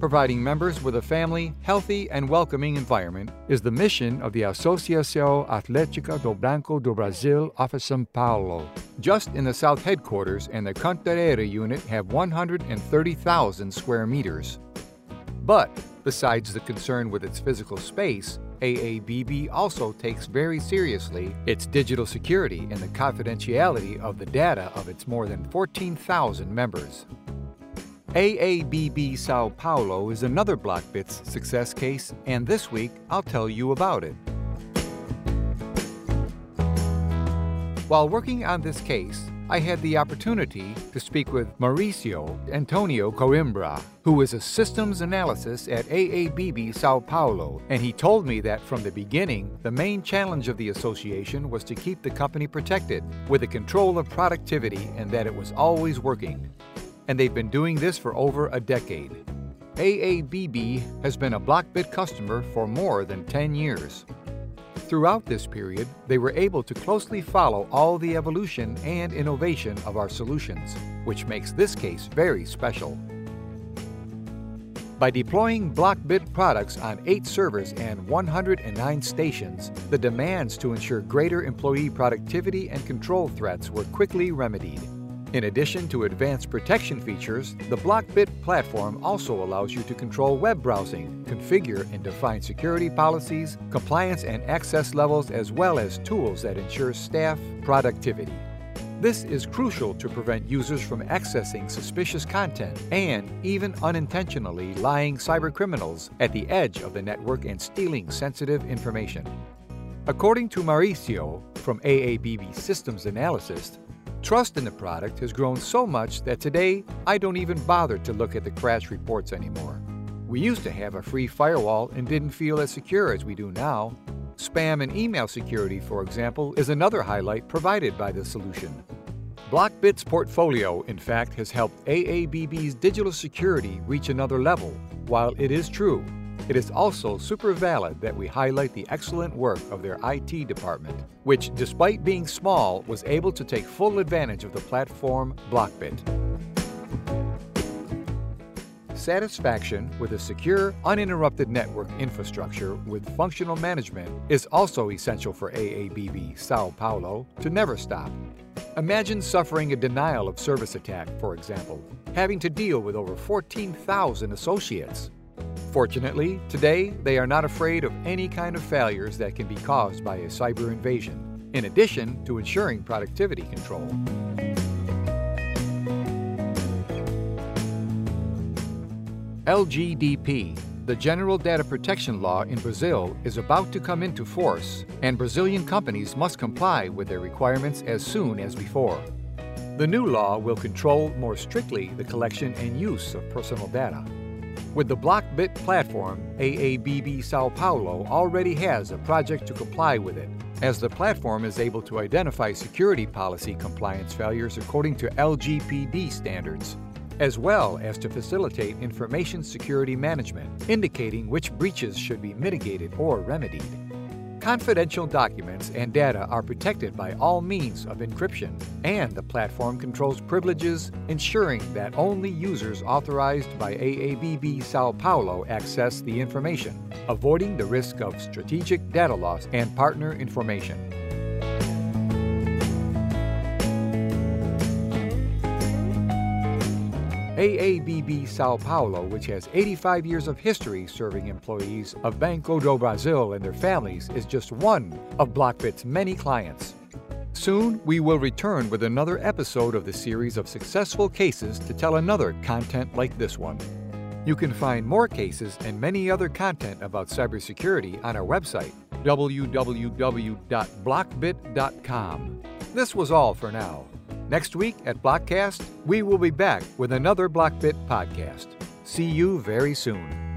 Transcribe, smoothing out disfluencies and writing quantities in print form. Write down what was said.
Providing members with a family, healthy, and welcoming environment is the mission of the Associação Atlética do Banco do Brasil of São Paulo. Just in the South headquarters and the Cantareira unit have 130,000 square meters. But besides the concern with its physical space, AABB also takes very seriously its digital security and the confidentiality of the data of its more than 14,000 members. AABB Sao Paulo is another BlockBits success case, and this week I'll tell you about it. While working on this case, I had the opportunity to speak with Mauricio Antonio Coimbra, who is a systems analyst at AABB Sao Paulo, and he told me that from the beginning, the main challenge of the association was to keep the company protected with the control of productivity and that it was always working. And they've been doing this for over a decade. AABB has been a BlockBit customer for more than 10 years. Throughout this period, they were able to closely follow all the evolution and innovation of our solutions, which makes this case very special. By deploying BlockBit products on 8 servers and 109 stations, the demands to ensure greater employee productivity and control threats were quickly remedied. In addition to advanced protection features, the BlockBit platform also allows you to control web browsing, configure and define security policies, compliance and access levels, as well as tools that ensure staff productivity. This is crucial to prevent users from accessing suspicious content and even unintentionally lying cybercriminals at the edge of the network and stealing sensitive information. According to Mauricio from AABB Systems Analysis, trust in the product has grown so much that today I don't even bother to look at the crash reports anymore. We used to have a free firewall and didn't feel as secure as we do now. Spam and email security, for example, is another highlight provided by the solution. BlockBit's portfolio, in fact, has helped AABB's digital security reach another level. While it is true, it is also super valid that we highlight the excellent work of their IT department, which, despite being small, was able to take full advantage of the platform BlockBit. Satisfaction with a secure, uninterrupted network infrastructure with functional management is also essential for AABB Sao Paulo to never stop. Imagine suffering a denial of service attack, for example, having to deal with over 14,000 associates. Fortunately, today they are not afraid of any kind of failures that can be caused by a cyber invasion, in addition to ensuring productivity control. LGDP, the General Data Protection Law in Brazil, is about to come into force, and Brazilian companies must comply with their requirements as soon as before. The new law will control more strictly the collection and use of personal data. With the BlockBit platform, AABB Sao Paulo already has a project to comply with it, as the platform is able to identify security policy compliance failures according to LGPD standards, as well as to facilitate information security management, indicating which breaches should be mitigated or remedied. Confidential documents and data are protected by all means of encryption, and the platform controls privileges, ensuring that only users authorized by AABB Sao Paulo access the information, avoiding the risk of strategic data loss and partner information. AABB Sao Paulo, which has 85 years of history serving employees of Banco do Brasil and their families, is just one of BlockBit's many clients. Soon, we will return with another episode of the series of successful cases to tell another content like this one. You can find more cases and many other content about cybersecurity on our website, www.blockbit.com. This was all for now. Next week at Blockcast, we will be back with another BlockBit podcast. See you very soon.